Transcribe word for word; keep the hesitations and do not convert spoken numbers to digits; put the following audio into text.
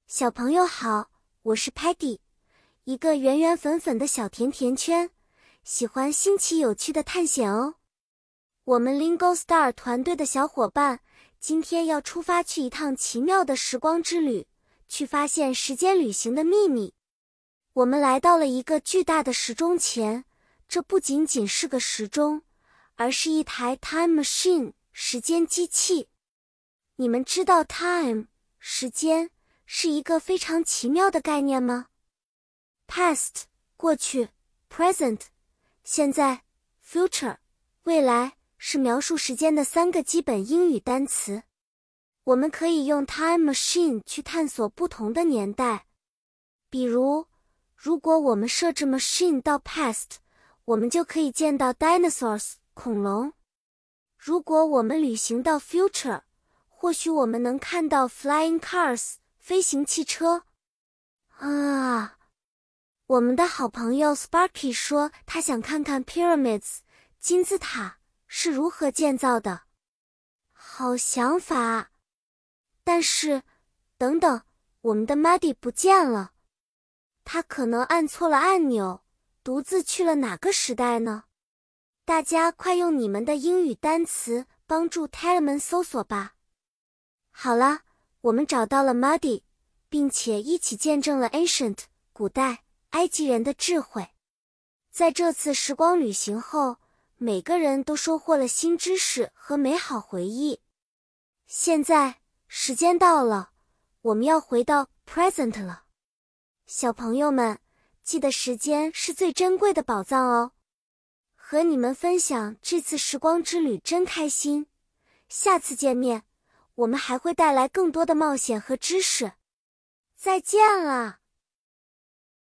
小朋友好，我是 Patty， 一个圆圆粉粉的小甜甜圈，喜欢新奇有趣的探险哦。我们 Lingo Star 团队的小伙伴今天要出发去一趟奇妙的时光之旅，去发现时间旅行的秘密。我们来到了一个巨大的时钟前，这不仅仅是个时钟，而是一台 Time Machine 时间机器。你们知道 Time 时间是一个非常奇妙的概念吗？ Past 过去 Present 现在 Future 未来是描述时间的三个基本英语单词。我们可以用 Time Machine 去探索不同的年代。比如，如果我们设置 Machine 到 Past， 我们就可以见到 Dinosaurs 恐龙。如果我们旅行到 Future， 或许我们能看到 Flying Cars飞行汽车。啊，我们的好朋友 Sparky 说他想看看 Pyramids 金字塔是如何建造的。好想法。但是，等等，我们的 Muddy 不见了。他可能按错了按钮，独自去了哪个时代呢？大家快用你们的英语单词帮助 Telemann 搜索吧。好了，我们找到了 Muddy， 并且一起见证了 Ancient 古代埃及人的智慧。在这次时光旅行后，每个人都收获了新知识和美好回忆。现在，时间到了，我们要回到 Present 了。小朋友们，记得时间是最珍贵的宝藏哦。和你们分享这次时光之旅真开心，下次见面，我们还会带来更多的冒险和知识。再见了。